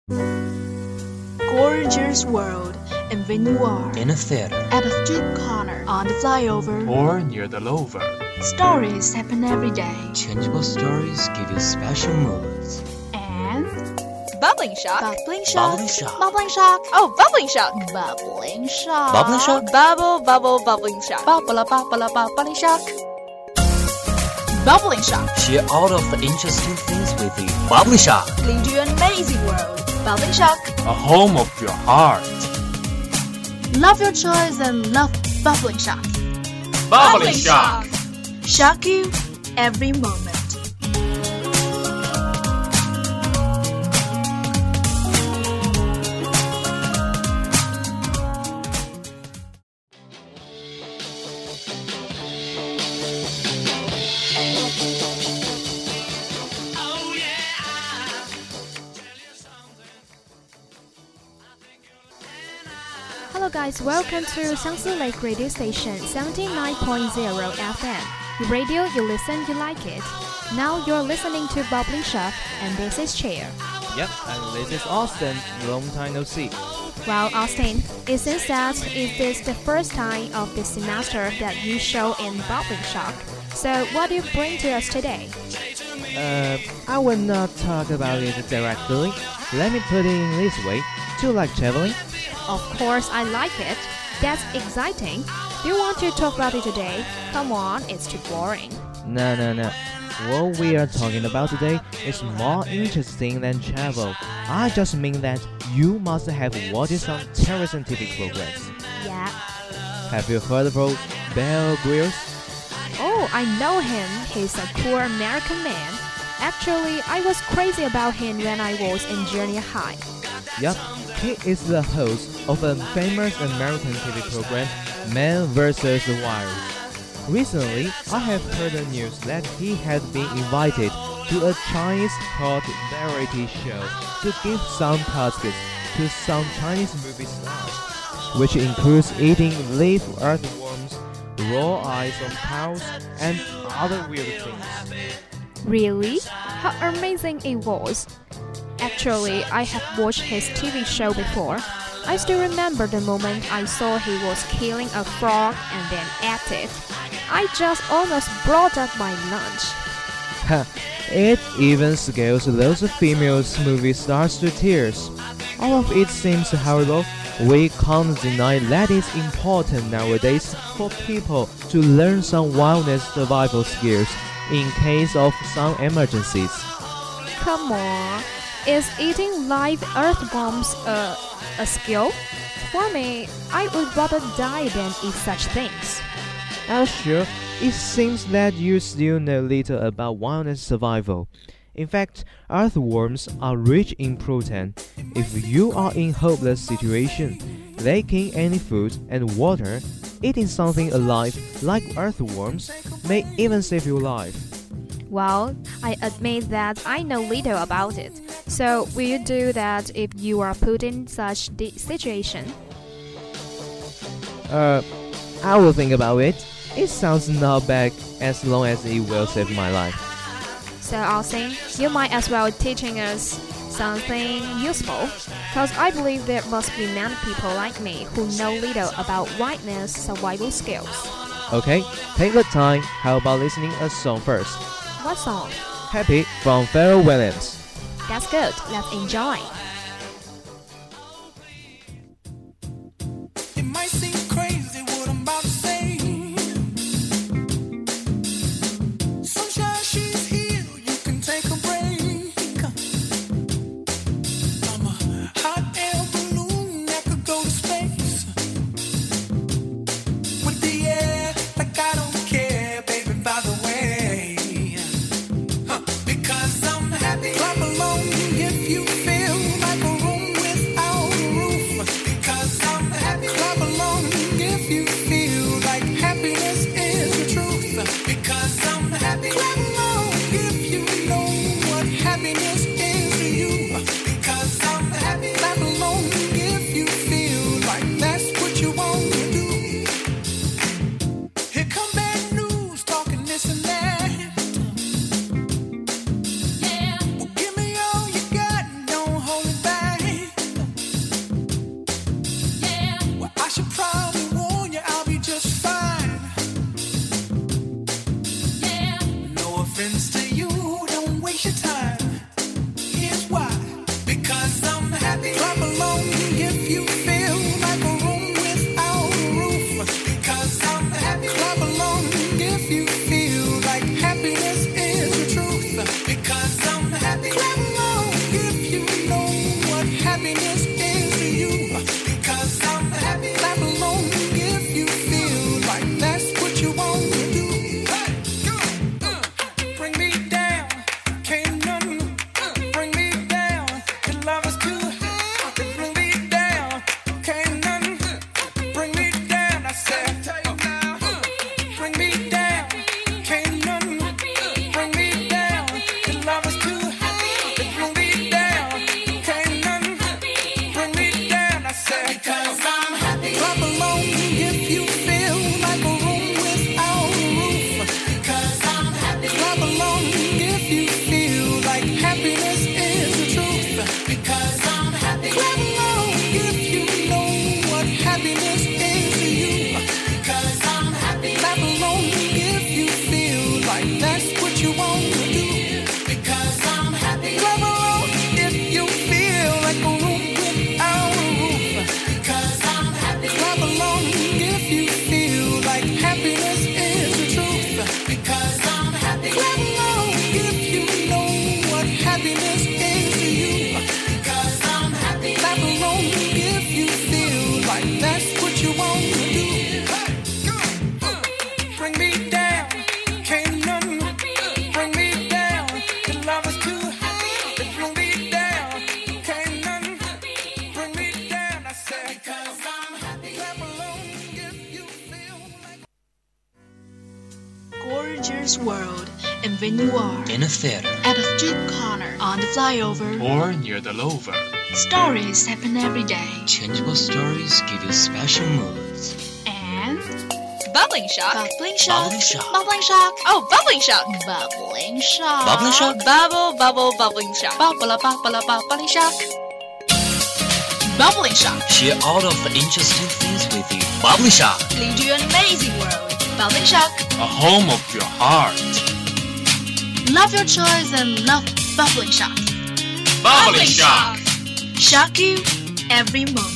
Gorgeous world, and when you are in a theater, at a street corner, on the flyover, or near the lover. Stories happen every day. Changeable stories give you special moods. And Bubbling shock. bubbling shock. Bubbling shock. Bubbling shock. Oh, bubbling shock. Bubbling shock. Bubbling shock. Bubble, bubbling shock. Bubbling shock. Bubbling shock. Share all of the interesting things with you. Bubbling shock. Lead you an amazing world. Bubbling shock. A home of your heart. Love your choice and love bubbling shock. Bubbling shock. Shock you every moment. Hello guys, welcome to Xiangsu Lake Radio Station 79.0 FM. Your radio, you listen, you like it. Now you're listening to Bubbling Shock, and this is Chair. Yep, and this is Austin. Long time no see. Well, Austin, it seems that it is the first time of this semester that you show in Bubbling Shock. So what do you bring to us today? I will not talk about it directly. Let me put it in this way. Do you like traveling? Of course, I like it. That's exciting. Do you want to talk about it today? Come on, it's too boring. No. What we are talking about today is more interesting than travel. I just mean that you must have watched some television TV programs. Yeah. Have you heard about Bear Grylls? Oh, I know him. He's a cool American man. Actually, I was crazy about him when I was in junior high. Yup, he is the host of a famous American TV program, Man vs. Wild. Recently, I have heard the news that he had been invited to a Chinese hot variety show to give some tasks to some Chinese movie stars, which includes eating live earthworms, raw eyes of cows, and other weird things. Really? How amazing it was! Actually, I have watched his TV show before. I still remember the moment I saw he was killing a frog and then ate it. I just almost brought up my lunch. It even scares those female movie stars to tears. All of it seems horrible. We can't deny that it's important nowadays for people to learn some wilderness survival skills in case of some emergencies. Come on, is eating live earthworms a skill? For me, I would rather die than eat such things. Sure, it seems that you still know little about wilderness survival. In fact, earthworms are rich in protein. If you are in a hopeless situation, lacking any food and water, eating something alive like earthworms may even save your life. Well, I admit that I know little about it. So, will you do that if you are put in such situation? I will think about it. It sounds not bad as long as it will save my life. So, Austin, you might as well teaching us something useful, because I believe there must be many people like me who know little about wilderness survival skills. Okay, take the time. How about listening a song first? What song? Happy from Pharrell Williams. That's good. Let's enjoy. It might seem crazy what I'm about to say. Sunshine, she's here. You can take a break. I'm a hot air balloon that could go to space. With the air, like I don't care, baby, by the way. Because I'm happy. Clap along if you feel like a room without a roof. Because I'm happy. Clap along happiness is to you. Because I'm happy. Clap along if you feel like that's what you want to do. Bring me down, can't none bring me down. Your love is too high. Bring me down, can't none bring me down. I said, bring me down, can't none bring me down. Your love is too high. Bring me down, can't none bring me down. I said, because I'm happy. Clap along if you feel like a room without a roof. Because I'm happy. Clap along if you feel like happiness is the truth. Because I'm happy. Clap along if you know what happiness is to you. Because I'm happy. Clap along if you feel like that's what you want to do. Because I'm happy. Clap along if you feel like a room without a roof. Because I'm happy. Clap along if you feel like happiness is the truth. Because I'm happy. Clap along if you know what happiness is to you. Because I'm happy. Clap along if you feel like that's what you want to do. Bring me down, can't none bring me down. Your love is too high. Bring me down, can't none bring me down. I said, because I'm happy. Clap along if you feel like. Gorgeous world, and when you are In a theater. at a street corner, on the flyover, Or near the lover. stories happen every day. Changeable stories give you special moods. And Bubbling shock. bubbling shock, Bubbling shock. bubbling shock, Oh, bubbling shock. bubbling shock, Bubbling shock? Bubble, bubbling shock. bubbling shock, bubbling shock. Share all of the interesting things with you. Bubbling Shock. Lead you an amazing world. Bubbling shock. A home of your heart. Love your choice and love bubbling shock. Bubbling shock. Shock you every moment.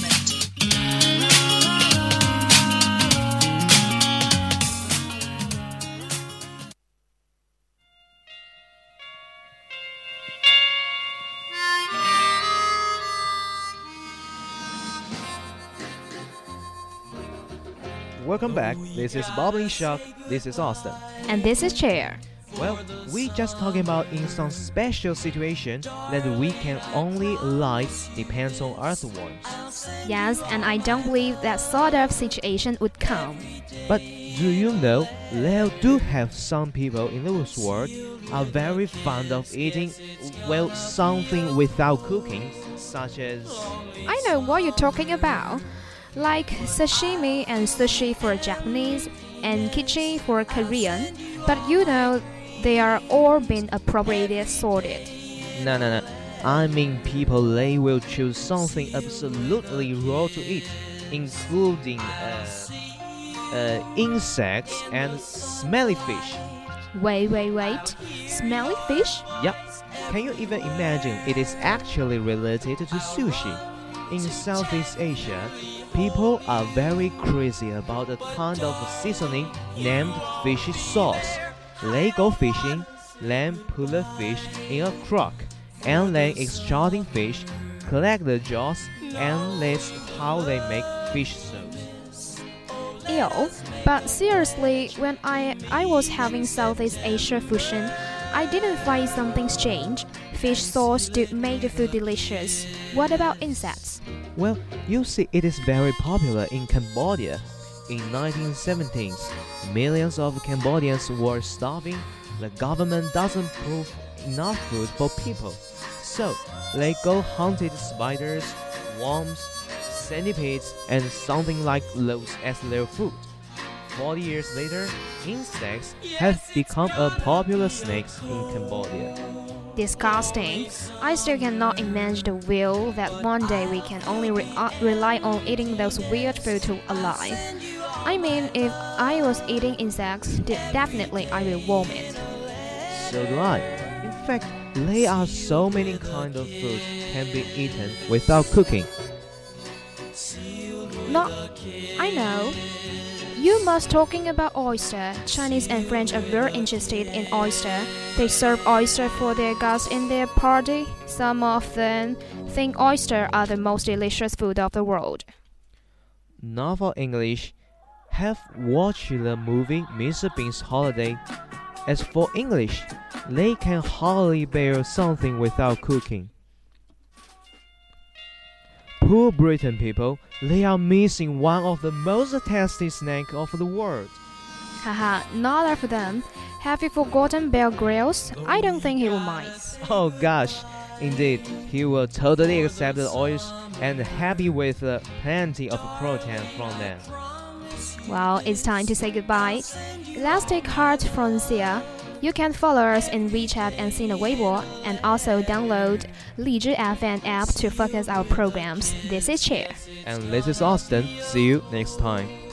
Welcome back. This is Bubbling Shock. This is Austin. And this is Chair. Well, we just talking about in some special situation that we can only life depends on earthworms. Yes, and I don't believe that sort of situation would come. But do you know there do have some people in this world are very fond of eating well something without cooking, such as I know what you're talking about. Like sashimi and sushi for Japanese and kimchi for Korean. But you know, they are all been appropriately sorted. no. I mean people they will choose something absolutely raw to eat, including insects and smelly fish. Wait. Smelly fish? Yep. Can you even imagine it is actually related to sushi? In Southeast Asia, people are very crazy about a kind of seasoning named fishy sauce. They go fishing, then put the fish in a crock, and then extracting fish, collect the jaws, and that's how they make fish sauce. Ew. But seriously, when I was having Southeast Asia fusion, I didn't find something strange. Fish sauce do make the food delicious. What about insects? Well, you see it is very popular in Cambodia. In 1970s, millions of Cambodians were starving. The government doesn't prove enough food for people. So, they go hunted spiders, worms, centipedes, and something like those as their food. 40 years later, insects have become a popular snakes in Cambodia. Disgusting. I still cannot imagine the will that one day we can only rely on eating those weird food to alive. I mean, if I was eating insects, definitely I will vomit. So do I. In fact, there are so many kinds of food can be eaten without cooking. Not, I know. You must talking about oyster. Chinese and French are very interested in oyster. They serve oyster for their guests in their party. Some of them think oyster are the most delicious food of the world. Now for English, have watched the movie Mr. Bean's Holiday. As for English, they can hardly bear something without cooking. Poor Britain people, they are missing one of the most tasty snacks of the world. Haha, not of them. Have you forgotten Bear Grylls? I don't think he will mind. Oh gosh, indeed, he will totally accept the oils and happy with plenty of protein from them. Well, it's time to say goodbye. Let's take heart from Sia. You can follow us in WeChat and Sina Weibo, and also download Lizhi FM app to focus our programs. This is Chair. And this is Austin. See you next time.